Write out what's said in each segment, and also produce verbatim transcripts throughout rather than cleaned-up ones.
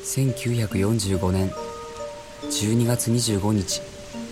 せんきゅうひゃくよんじゅうごねんじゅうにがつにじゅうごにち、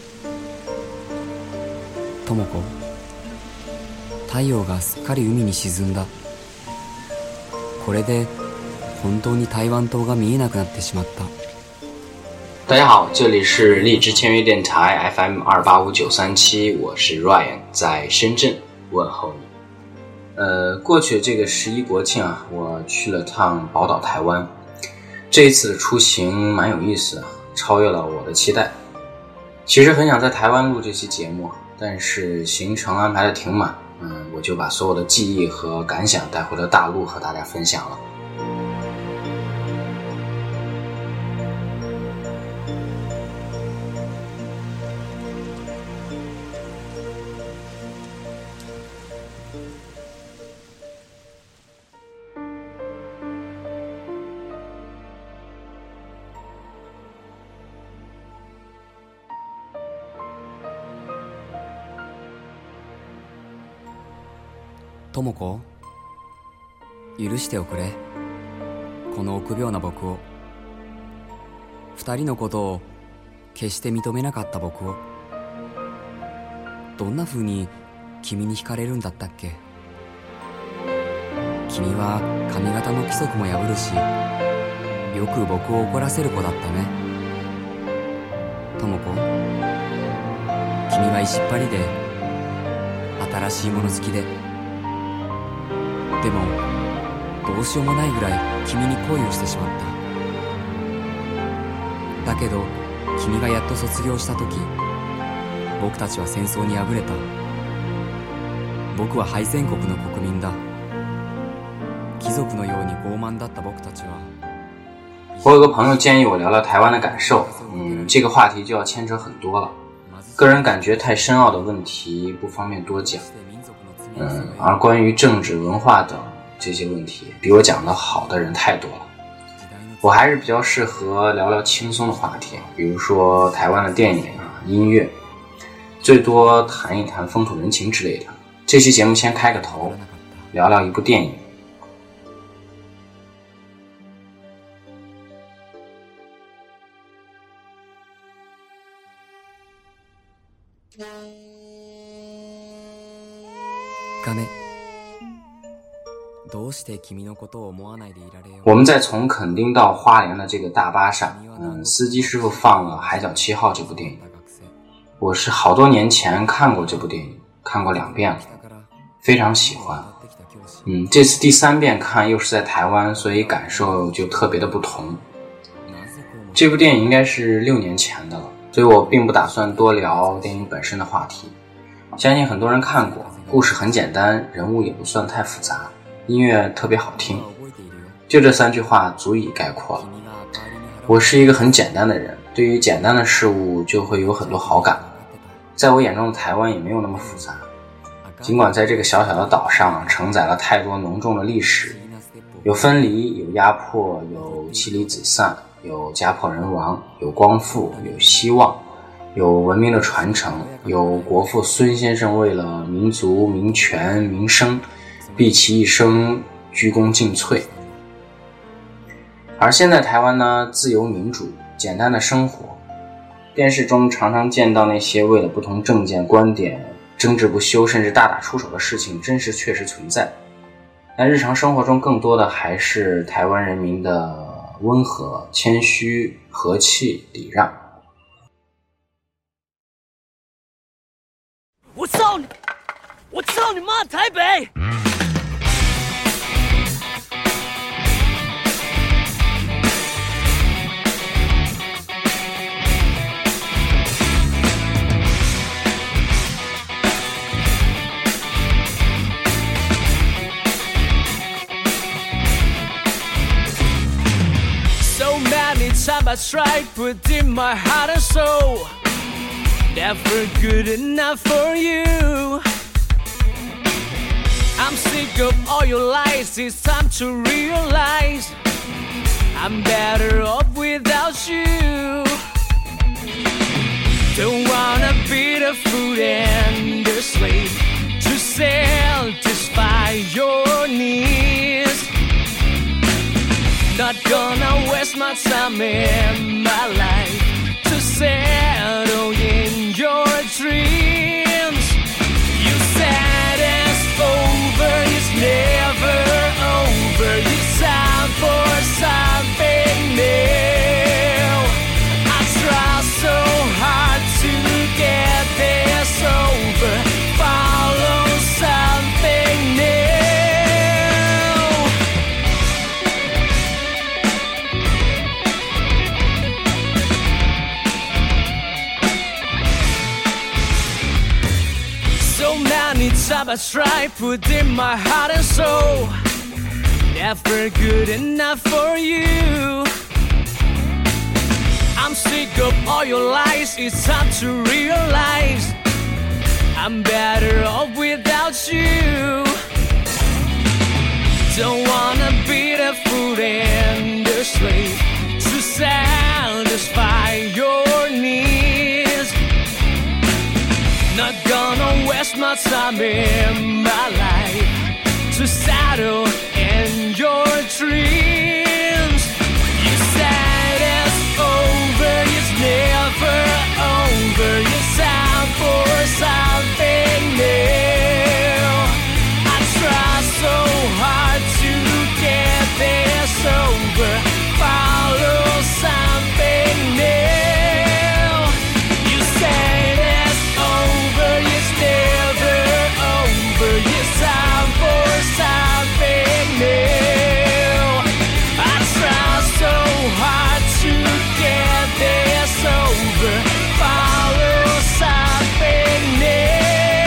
智子、太陽がすっかり海に沈んだ。これで本当に台湾島が見えなくなってしまった。 大家好，这里是荔枝签约电台 F M 二八五九三七，我是 Ryan， 在深圳问候你。呃，过去这个十一国庆啊，我去了趟宝岛台湾。这一次的出行蛮有意思的，超越了我的期待。其实很想在台湾录这期节目，但是行程安排的挺满，嗯，我就把所有的记忆和感想带回了大陆和大家分享了。 智子、許しておくれ、この臆病な僕を、二人のことを決して認めなかった僕を。どんな風に君に惹かれるんだったっけ。君は髪型の規則も破るし、よく僕を怒らせる子だったね。智子、君は石っ張りで新しいもの好きで、でもどうしようもないぐらい君に恋をしてしまった。だけど君がやっと卒業した時、僕たちは戦争に敗れた。僕は敗戦国の国民だ。貴族のように傲慢だった僕たちは。 我有个朋友建议我聊聊台湾的感受，嗯，这个话题就要牵扯很多了，个人感觉太深奥的问题不方便多讲。嗯，而关于政治文化等这些问题，比我讲的好的人太多了。我还是比较适合聊聊轻松的话题，比如说台湾的电影啊、音乐，最多谈一谈风土人情之类的。这期节目先开个头，聊聊一部电影。我们在从垦丁到花莲的这个大巴上，嗯，司机师傅放了《海角七号》这部电影。我是好多年前看过这部电影，看过两遍了，非常喜欢。嗯，这次第三遍看又是在台湾，所以感受就特别的不同。这部电影应该是六年前的了，所以我并不打算多聊电影本身的话题。相信很多人看过，故事很简单，人物也不算太复杂，音乐特别好听，就这三句话足以概括了。我是一个很简单的人，对于简单的事物就会有很多好感。在我眼中的台湾也没有那么复杂，尽管在这个小小的岛上承载了太多浓重的历史，有分离，有压迫，有妻离子散，有家破人亡，有光复，有希望，有文明的传承，有国父孙先生为了民族、民权、民生毕其一生鞠躬尽瘁。而现在台湾呢，自由民主，简单的生活，电视中常常见到那些为了不同政见观点争执不休，甚至大打出手的事情，真实确实存在。但日常生活中更多的还是台湾人民的温和、谦虚、和气、礼让。 我操你！我操你妈！台北！So many times I tried, put in my heart and soul, never good enough for you. I'm sick of all your lies, it's time to realize I'm better off without you. Don't wanna be the fool and the slave to satisfy your needs. Not gonna waste my time in my life to settle in your dreams. You said it's over, it's never over. It's time for something new. I try so hard to get this over. Follow something new. So many times I tried putting my heart and soul, never good enough for you. I'm sick of all your lies, it's time to realize I'm better off without you. Don't wanna be the fool and the slave to satisfy your needs. Not gonna waste my time in my life to settle in your dreams. You said it's over, it's never over. It's time for something new. I try so hard to get this over. Follow something new. You said it's over, it's never over. It's time for something new. I try so hard to get this over. Follow something new.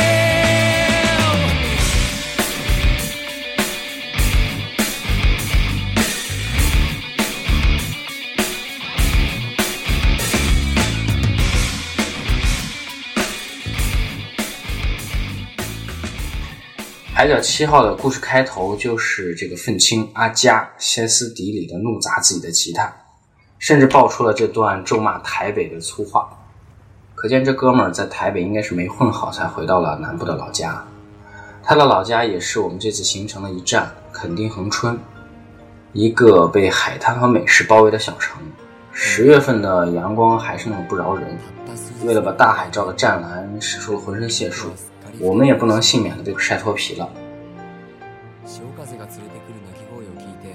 海角七号的故事开头就是这个愤青阿加歇斯底里的怒砸自己的吉他，甚至爆出了这段咒骂台北的粗话。可见这哥们儿在台北应该是没混好，才回到了南部的老家。他的老家也是我们这次行程的一站，垦丁恒春，一个被海滩和美食包围的小城。十月份的阳光还是那么不饶人，为了把大海照的湛蓝，使出了浑身解数，我们也不能幸免的被晒脱皮了。 潮風が連れてくる鳴き声を聞いて、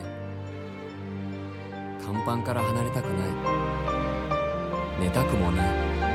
甲板から離れたくない、寝たくもない。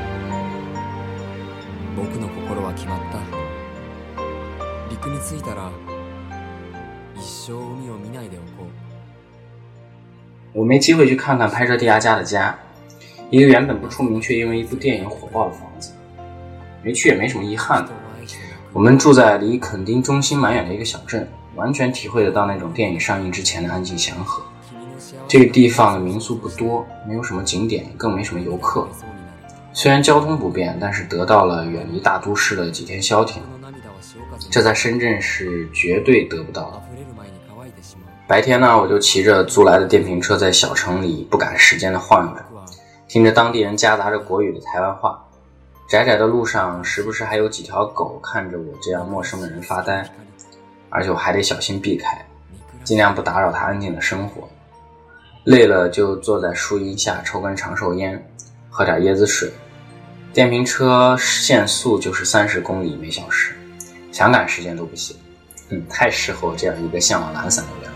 僕の心は決まった。陸に着いたら一生海を見ないでおこう。 我没机会去看看拍摄地阿加的家，一个原本不出名却因为一部电影火爆的房子。没去也没什么遗憾的。我们住在离垦丁中心蛮远的一个小镇，完全体会得到那种电影上映之前的安静祥和。这个地方的民宿不多，没有什么景点，更没什么游客。虽然交通不便，但是得到了远离大都市的几天消停，这在深圳是绝对得不到的。白天呢，我就骑着租来的电瓶车在小城里不赶时间的晃悠着，听着当地人夹杂着国语的台湾话。窄窄的路上时不时还有几条狗看着我这样陌生的人发呆，而且我还得小心避开，尽量不打扰他安静的生活。累了就坐在树荫下抽根长寿烟，喝点椰子水。电瓶车限速就是三十公里每小时，想赶时间都不行。嗯，太适合我这样一个向往懒散的人了。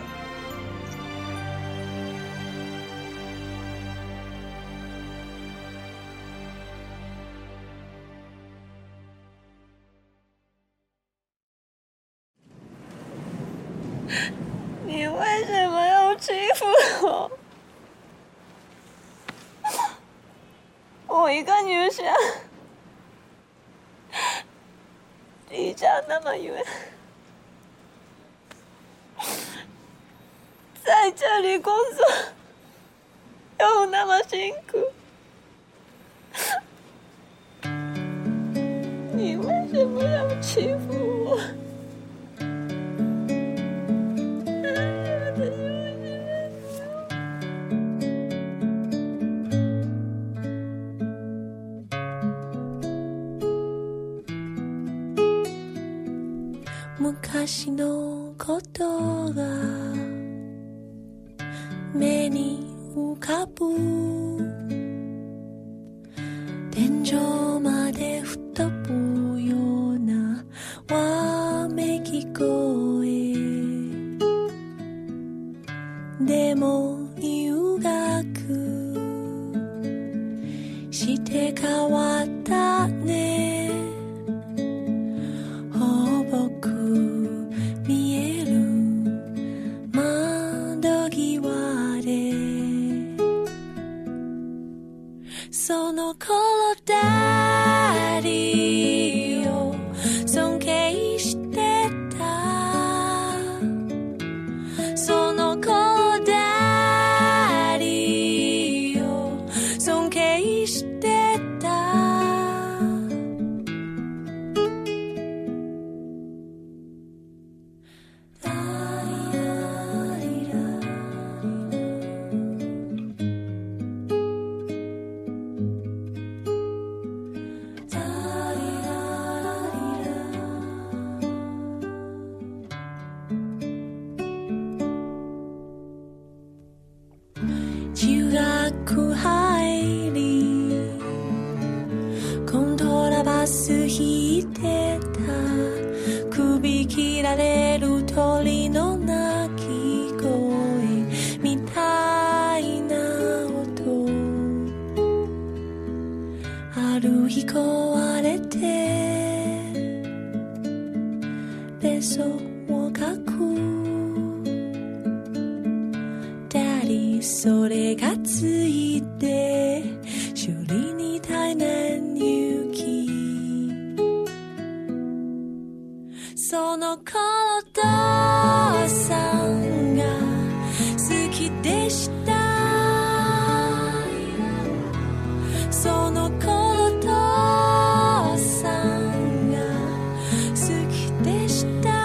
你为什么要欺负我？我一个女生，离家那么远，在这里工作又那么辛苦，你为什么要欺负我？昔のことが目に浮かぶ天井まで吹っ飛ぶようなわめき声でも留学して変わったねほぼく見える窓際でその頃ダディを尊敬してたその頃ダディを尊敬してた中学入りコントラバス弾いてた首切られる鳥の鳴き声みたいな音ある日壊れてベソを書くそれがついて修理に大変勇気その頃父さんが好きでしたその頃父さんが好きでした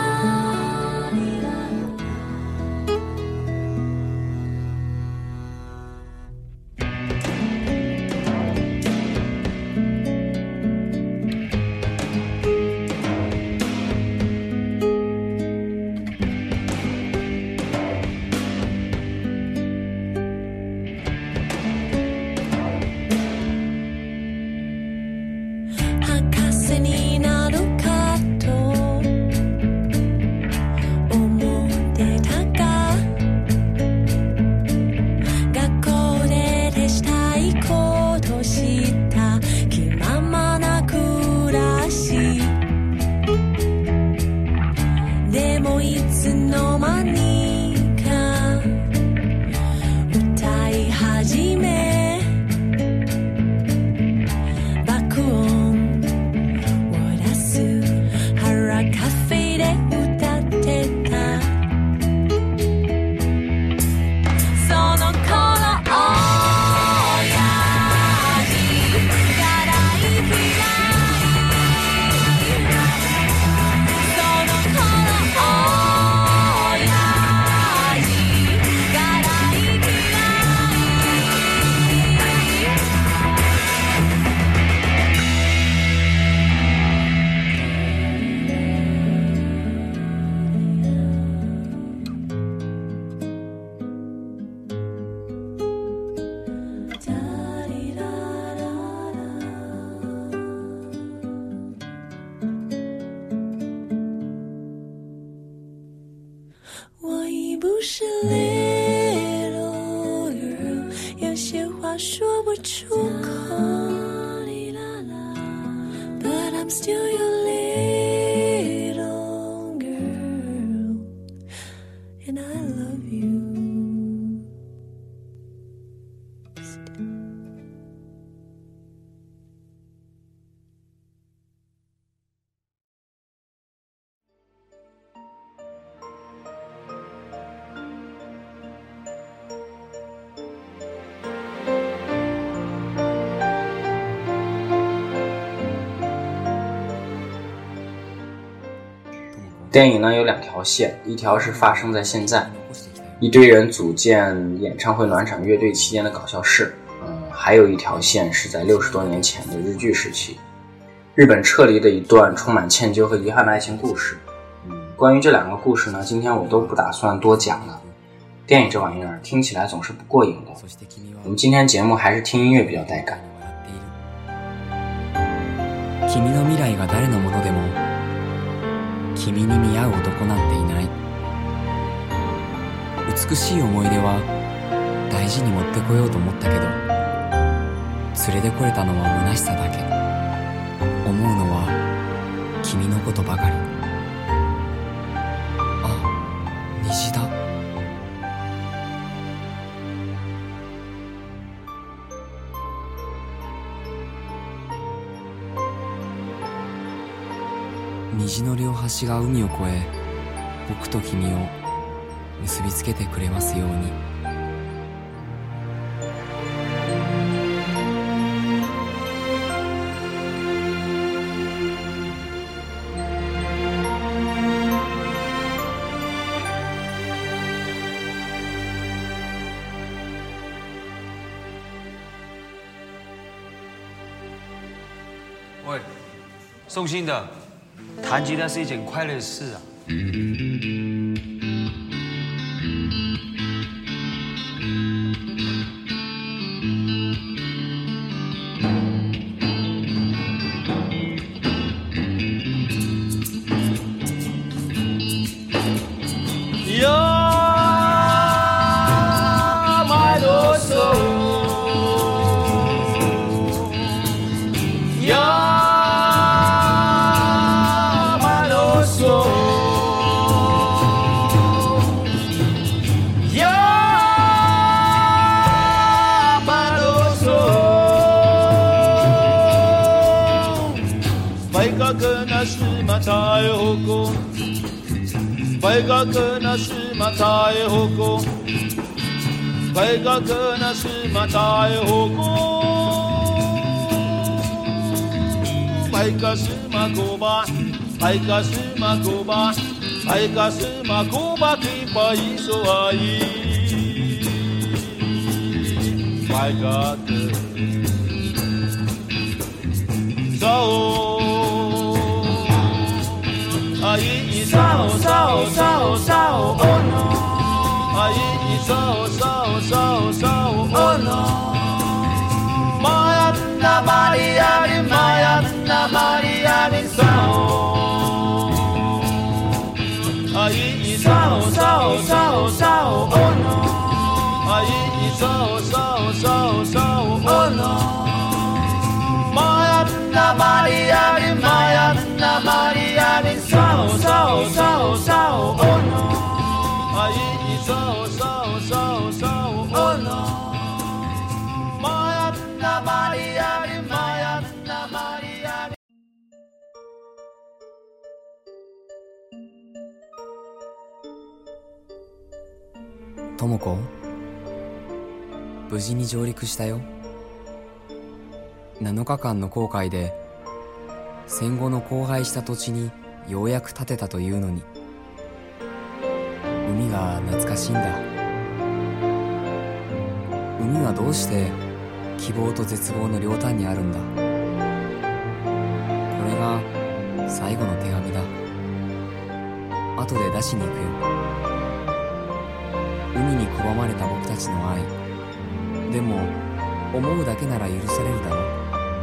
不是 little girl 有些话说不出口 But I'm still your little girl And I love you 电影呢有两条线，一条是发生在现在，一堆人组建演唱会暖场乐队期间的搞笑事，嗯，还有一条线是在六十多年前的日据时期，日本撤离的一段充满歉疚和遗憾的爱情故事。嗯，关于这两个故事呢，今天我都不打算多讲了， 电影这玩意儿听起来总是不过瘾的，我们今天节目还是听音乐比较带感。 君の未来が誰のものでも君に見合う男なんていない。美しい思い出は大事に持ってこようと思ったけど連れてこれたのは虚しさだけ。思うのは君のことばかり。あ、虹だ。虹の両端が海を越え僕と君を結びつけてくれますように。 喂，送信的，弹吉他是一件快乐的事啊。 たえほこ大学なしまたえほこ大学なしまたえほこ大学しまこば大学しまこば大学しまこばきばいそあい大学さおあいいさおさおさおさおおのあいいさおさおさおさおおのまやんなまりやりまやんなまりやりさおあいいさおさおさおさおおのあいいさおさおさおさおおのまやんなまりやりまやんなまりやりさおさおさおさおおのあいいさおさおさおさおおのまやんなまりやりまやんなまりやり。 智子、無事に上陸したよ。なのかかんの航海で戦後の荒廃した土地にようやく建てたというのに海が懐かしいんだ。海はどうして希望と絶望の両端にあるんだ。これが最後の手紙だ。後で出しに行くよ。海に拒まれた僕たちの愛でも思うだけなら許されるだろう。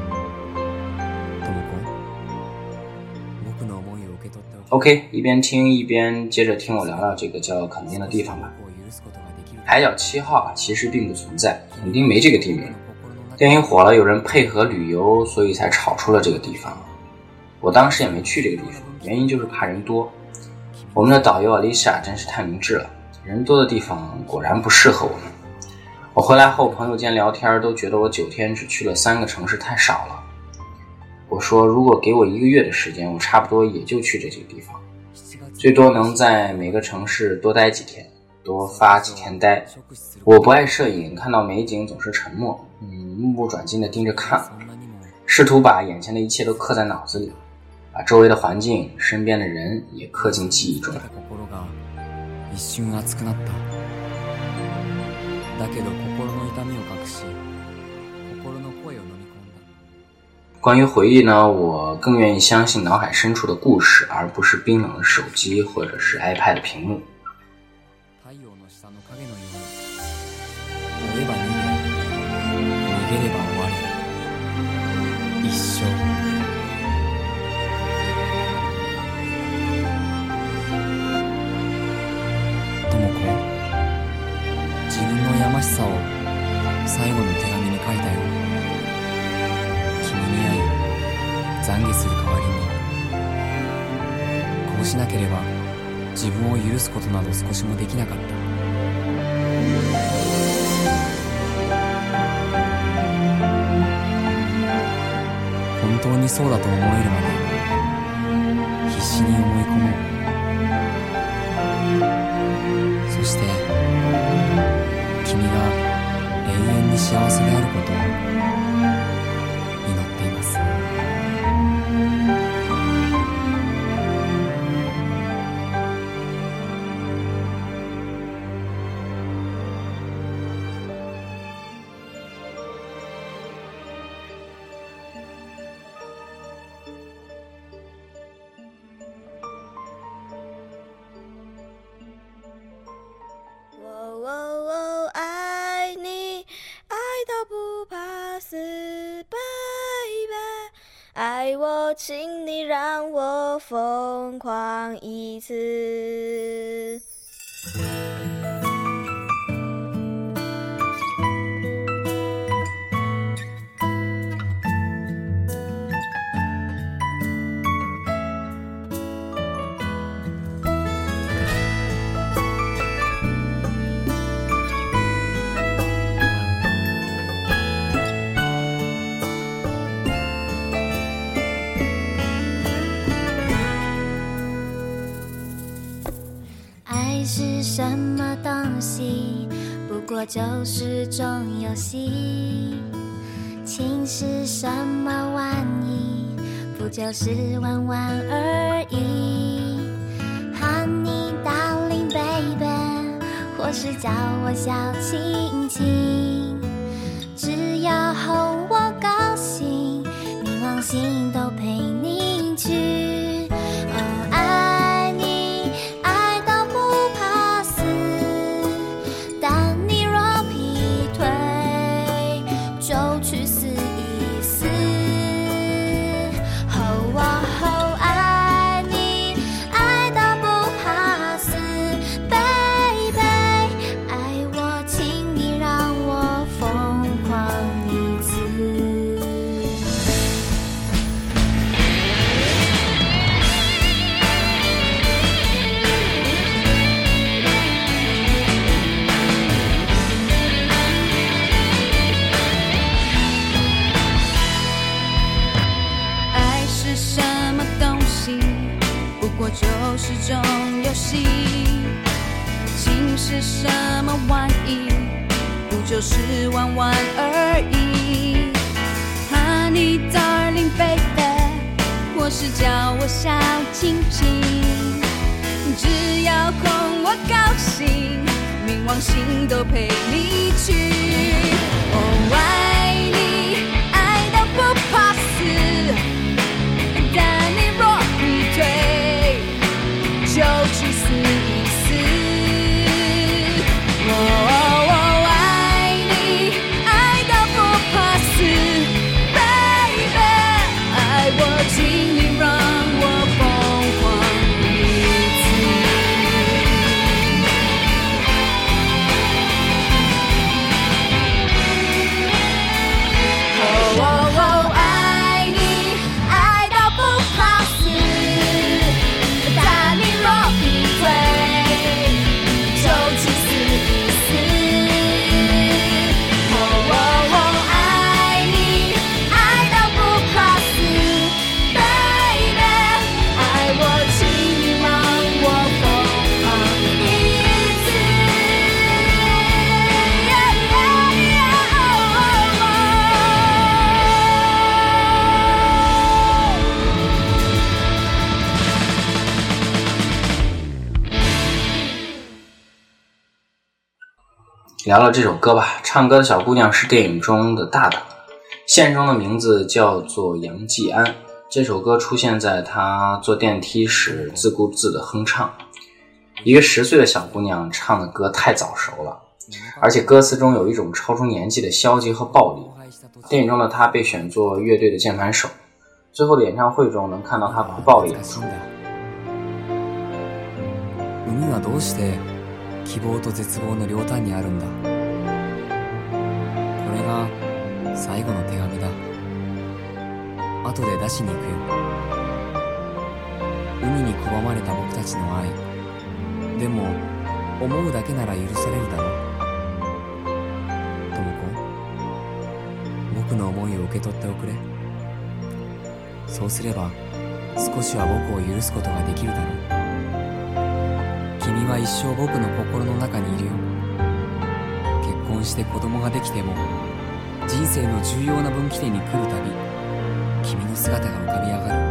OK， 一边听一边接着听我聊聊这个叫垦丁的地方吧。海角七号啊，其实并不存在，垦丁没这个地名。电影火了，有人配合旅游，所以才炒出了这个地方。我当时也没去这个地方，原因就是怕人多。我们的导游 Alicia 真是太明智了，人多的地方果然不适合我们。我回来后朋友间聊天都觉得我九天只去了三个城市太少了。我说如果给我一个月的时间，我差不多也就去这几个地方，最多能在每个城市多待几天，多发几天呆。我不爱摄影，看到美景总是沉默，嗯，目不转睛地盯着看，试图把眼前的一切都刻在脑子里，把周围的环境、身边的人也刻进记忆中。 一瞬熱くなった。だけど心の痛みを隠し、心の声を飲み込んだ。 关于回忆呢，我更愿意相信脑海深处的故事，而不是冰冷的手机或者是 iPad 的屏幕。 陽の下の影のように追えば逃げ逃げれば終わり一生智子自分のやましさを最後の手紙に書いたよ君に会い懺悔する代わりにこうしなければ自分を許すことなど少しもできなかった。本当にそうだと思えるまで必死に思い込もう。そして君が永遠に幸せであることを祈っています。 爱我，请你让我疯狂一次。是什么东西？不过就是种游戏。情是什么玩意？不就是玩玩而已。Honey darling baby， 或是叫我小亲亲，只要哄我高兴，冥王星都陪你去。哦，爱你爱到不怕死，但你若劈腿，就去死一死。哦哦，爱你爱到不怕死 ，baby， 爱我，请你让我疯狂一次。 爱是什么东西？不过就是种游戏。情是什么玩意？不就是玩玩而已。Honey darling baby， 或是叫我小亲亲，只要哄我高兴，冥王星都陪你去。哦，爱你爱到不怕死，但你若劈腿，就去死一死。哦哦，爱你爱到不怕死 ，baby， 爱我，请你让我疯狂一次。哦哦，爱你爱到不怕死，但你若劈腿，就去死一死。哦哦，爱你爱到不怕死 ，baby， 爱我，请你让我疯狂一次。 聊聊这首歌吧。唱歌的小姑娘是电影中的大大，现实中的名字叫做杨继安。这首歌出现在她坐电梯时自顾自的哼唱。 一个十岁的小姑娘唱的歌太早熟了，而且歌词中有一种超出年纪的消极和暴力。电影中的她被选作乐队的键盘手，最后的演唱会中能看到她哭爆的演出。 海はどうして希望と絶望の両端にあるんだ。これが最後の手紙だ。後で出しに行くよ。海に拒まれた僕たちの愛、でも思うだけなら許されるだろう。ともこ、僕の思いを受け取っておくれ。そうすれば少しは僕を許すことができるだろう。君は一生僕の心の中にいるよ。結婚して子供ができても、人生の重要な分岐点に来るたび、君の姿が浮かび上がる。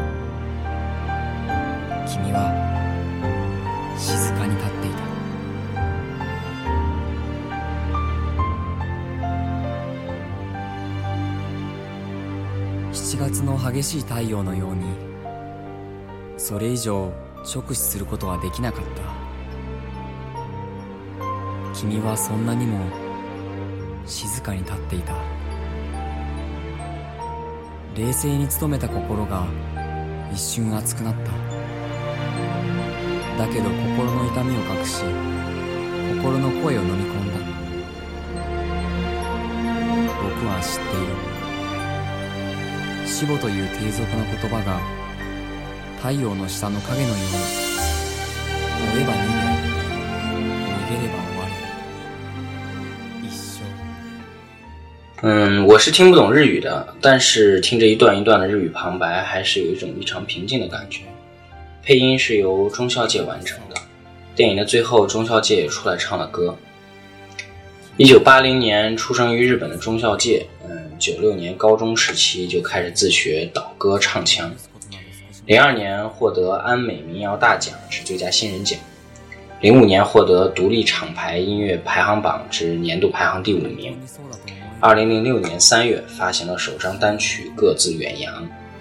君は静かに立っていた。しちがつの激しい太陽のように、それ以上直視することはできなかった。君はそんなにも静かに立っていた。冷静に努めた心が一瞬熱くなった。だけど心の痛みを隠し、心の声を飲み込んだ。僕は知っている。死母という低俗な言葉が太陽の下の影のように、追えば逃げ、逃げれば終わり。 嗯，我是听不懂日语的，但是听着一段一段的日语旁白，还是有一种异常平静的感觉。配音是由中孝介完成的，电影的最后中孝介也出来唱了歌。一九八零年出生于日本的中孝介，嗯，九六年高中时期就开始自学导歌唱腔，零二年获得安美民谣大奖之最佳新人奖，零五年获得独立厂牌音乐排行榜之年度排行第五名。二零零六年三月发行了首张单曲《各自远洋》。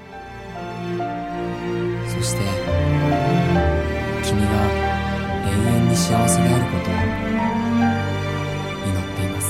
そして君が永遠に幸せであることを祈っています。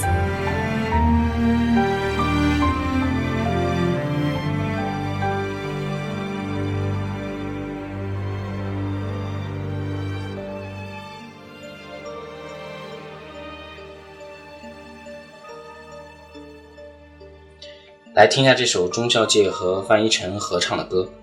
来听一下这首中孝介和范逸臣合唱的歌。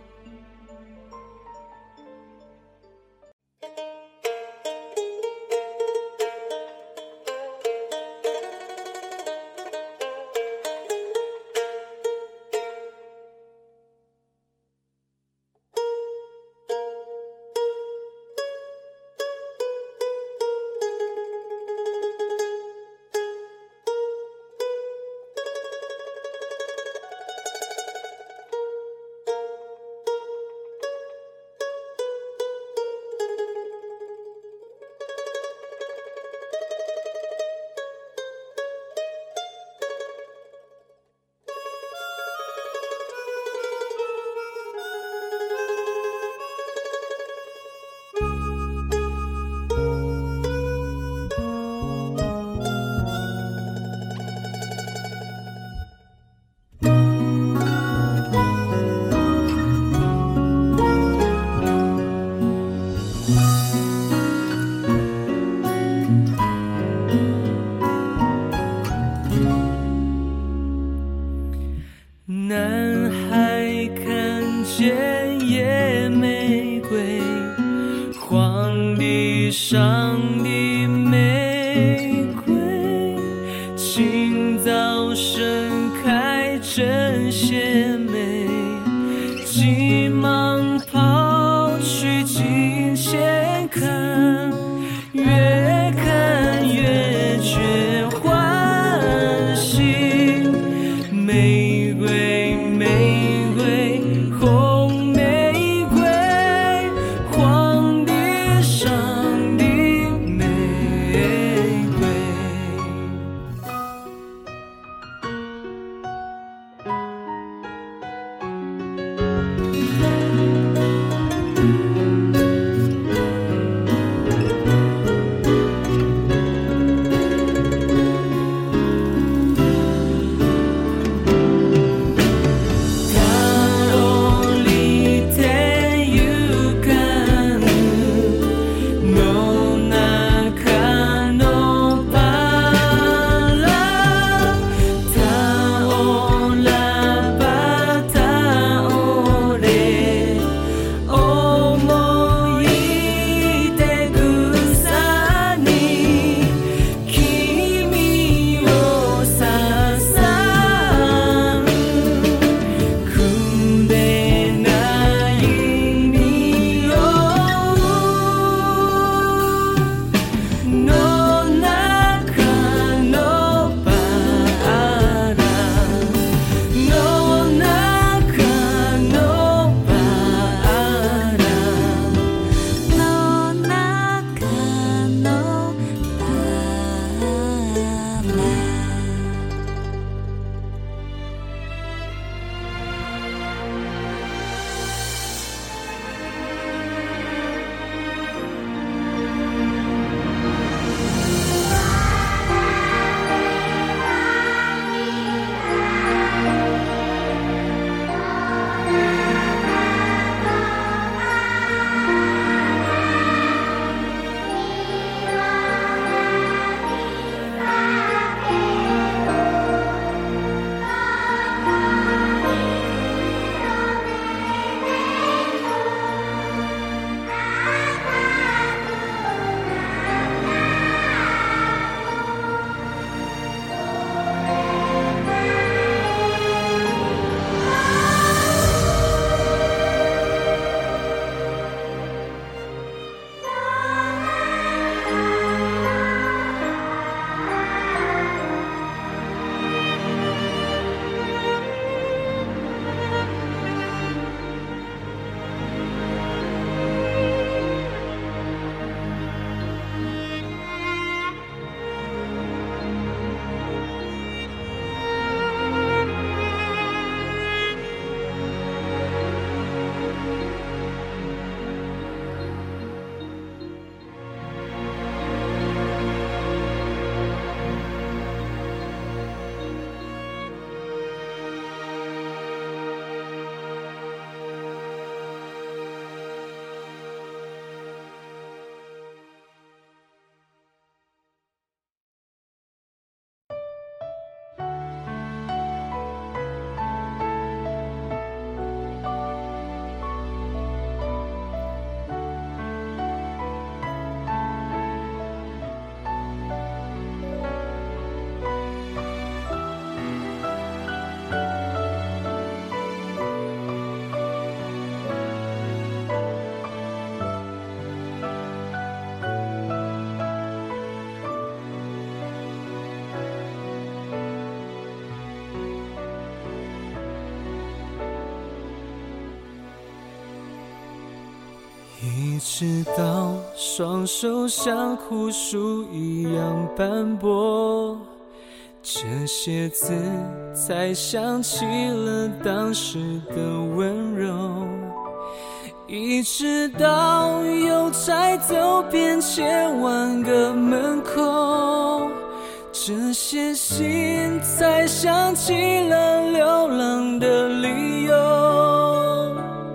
直到双手像枯树一样斑驳，这些字才想起了当时的温柔，一直到邮差走遍千万个门口，这些信才想起了流浪的理由。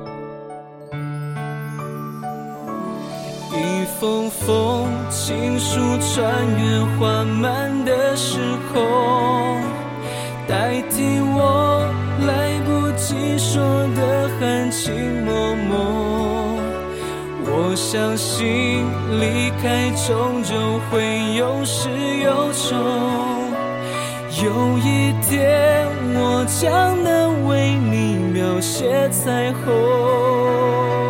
一封封情书穿越缓慢的时空，代替我来不及说的含情脉脉。我相信离开终究会有始有终，有一天我将能为你描写彩虹。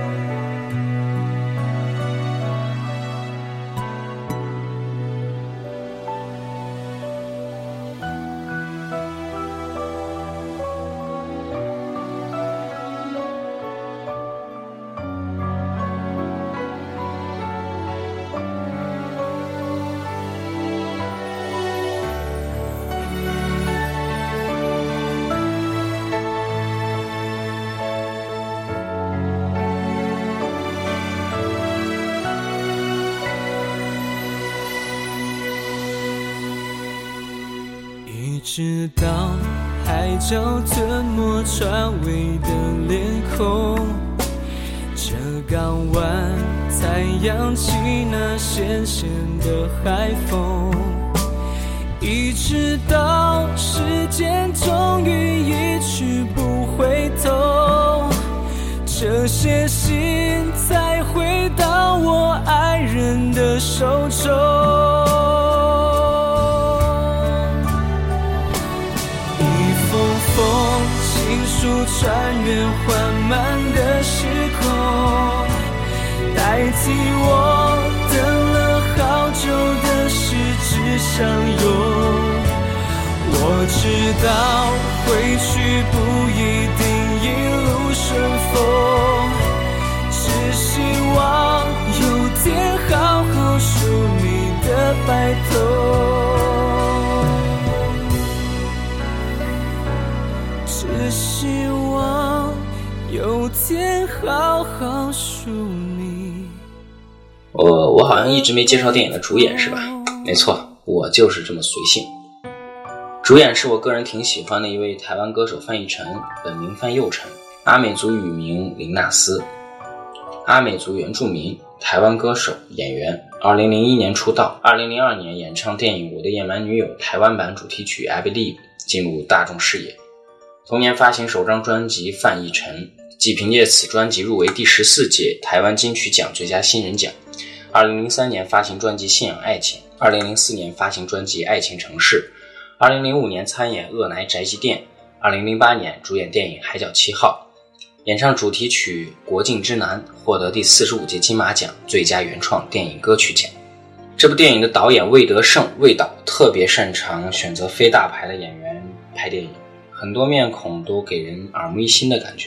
直到海角吞没船尾的脸孔，这港湾才扬起那咸咸的海风，一直到时间终于一去不回头，这些信才回到我爱人的手中。情书穿越缓慢的时空，代替我等了好久的失之相拥。我知道回去不一定一路顺风，只希望有天好好梳你的白头，只希望有天好好梳你。 我我好像一直没介绍电影的主演是吧？没错，我就是这么随性。主演是我个人挺喜欢的一位台湾歌手范逸臣，本名范佑臣，阿美族语名林纳斯，阿美族原住民，台湾歌手、演员。二零零一年出道，二零零二年演唱电影《我的野蛮女友》台湾版主题曲 I Believe 进入大众视野。同年发行首张专辑《范逸臣》，即凭借此专辑入围第十四届台湾金曲奖最佳新人奖。二零零三年发行专辑《信仰爱情》，二零零四年发行专辑《爱情城市》，二零零五年参演《恶奶宅急便》，二零零八年主演电影《海角七号》，演唱主题曲《国境之南》，获得第四十五届金马奖最佳原创电影歌曲奖。这部电影的导演魏德胜魏导特别擅长选择非大牌的演员拍电影，很多面孔都给人耳目一新的感觉。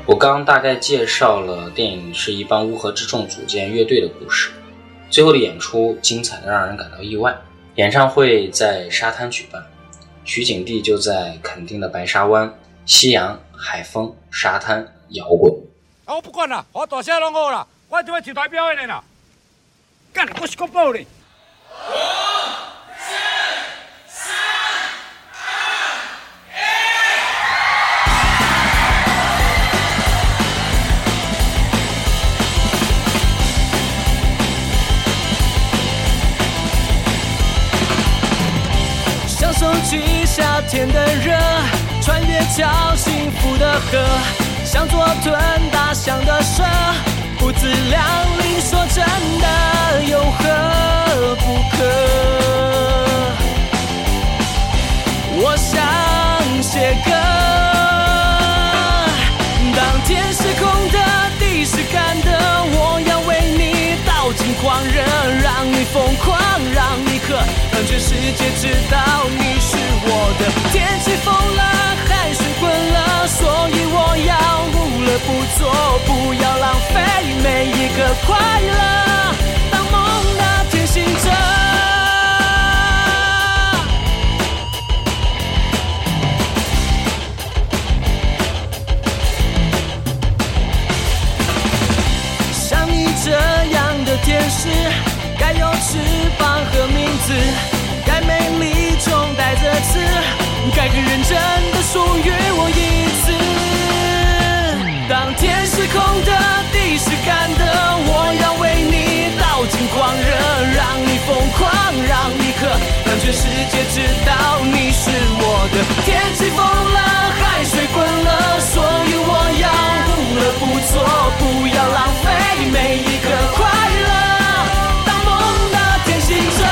我刚大概介绍了电影是一帮乌合之众组建乐队的故事，最后的演出精彩的让人感到意外。演唱会在沙滩举办，取景地就在垦丁的白沙湾，夕阳、海风、沙滩、摇滚。 啊，我不管啦，我大声拢好啦，我就要上台表演的啦。干，我是国宝嘞！ 享受起夏天的热，穿越条幸福的河，想做吞大象的蛇，不自量力，说真的有何不可？我想写歌，当天是空的，地是干的，我要为你倒尽狂热，让你疯狂，让你渴，让全世界知道你是我的。天气疯了，海水滚了，所以我要无乐不作，不要浪费每一个快乐，当梦的天行者。像你这样的天使，该有翅膀和名字，该美丽中带着刺，该更认真的属于我一次。当天是空的，地是干的，我要为你倒尽狂热，让你疯狂，让你渴，让全世界知道你是我的。天气疯了，海水滚了，所以我要无乐不作，不要浪费每一个快乐，当梦的天行者。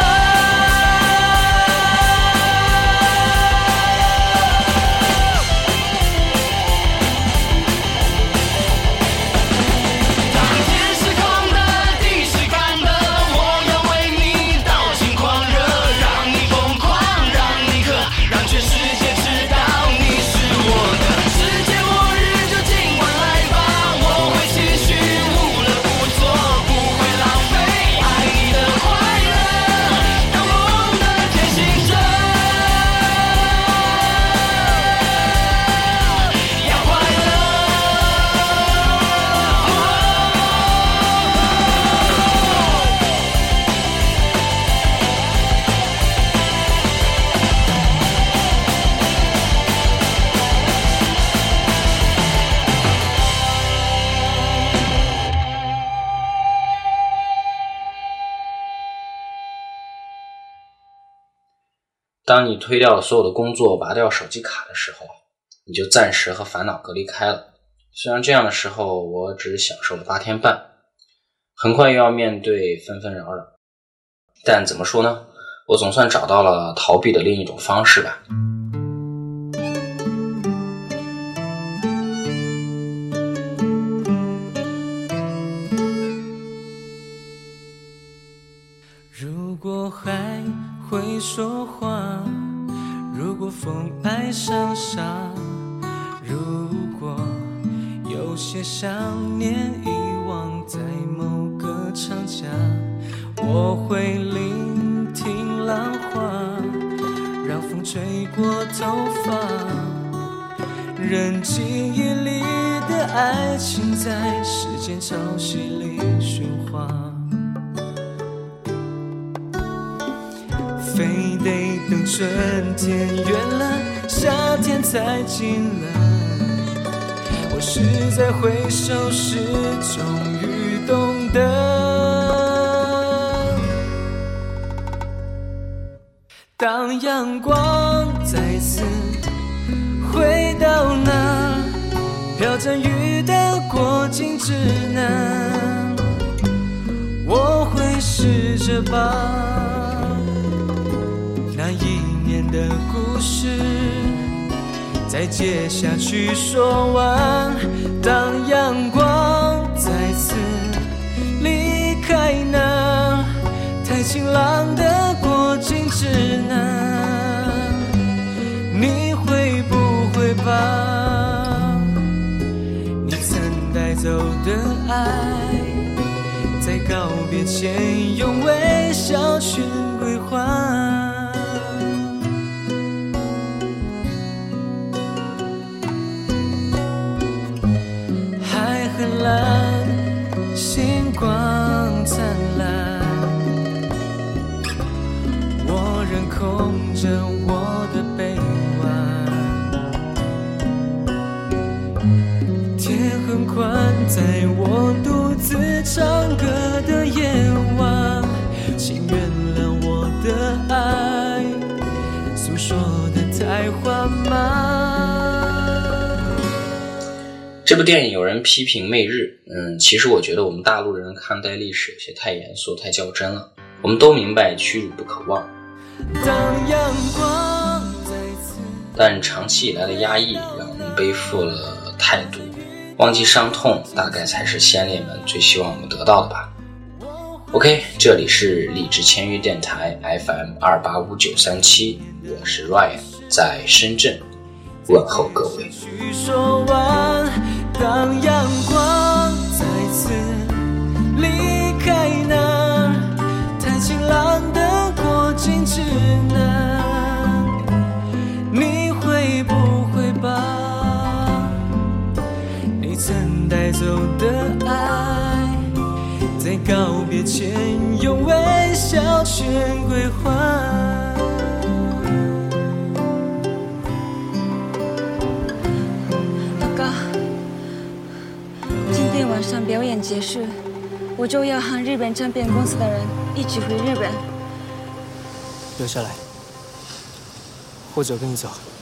当你推掉了所有的工作，拔掉手机卡的时候，你就暂时和烦恼隔离开了。虽然这样的时候我只享受了八天半，很快又要面对纷纷扰扰，但怎么说呢，我总算找到了逃避的另一种方式吧。 如果海会说话，如果风爱上沙，如果有些想念遗忘在某个长假，我会聆听浪花，让风吹过头发，任记忆里的爱情在时间潮汐里喧哗，非得等春天远了，夏天才近了，我是在回首时终于懂得，当阳光再次回到那飘着雨的过境之南，我会试着把那一年的故事再接下去说完，当阳光再次离开那太晴朗的过境之南，你会不会把你的爱，在告别前用微笑去归还。海很蓝，星光灿烂，我仍空着我的臂弯。天很宽，在我独自唱歌的夜晚，请原谅我的爱诉说的太缓慢。 这部电影有人批评媚日，嗯，其实我觉得我们大陆人看待历史有些太严肃太较真了。我们都明白屈辱不可忘， 当阳光再次， 但长期以来的压抑让我们背负了态度，忘记伤痛大概才是先烈们最希望我们得到的吧。 OK， 这里是荔枝签约电台 F M 二八五九三七， 我是 Ryan， 在深圳问候各位。 说完，当阳光再次离开那太晴朗的过境之南，你会不会把你曾带走的爱，在告别前用微笑全归还？ 今天晚上表演结束，我就要和日本唱片公司的人一起回日本。 留下来，或者跟你走。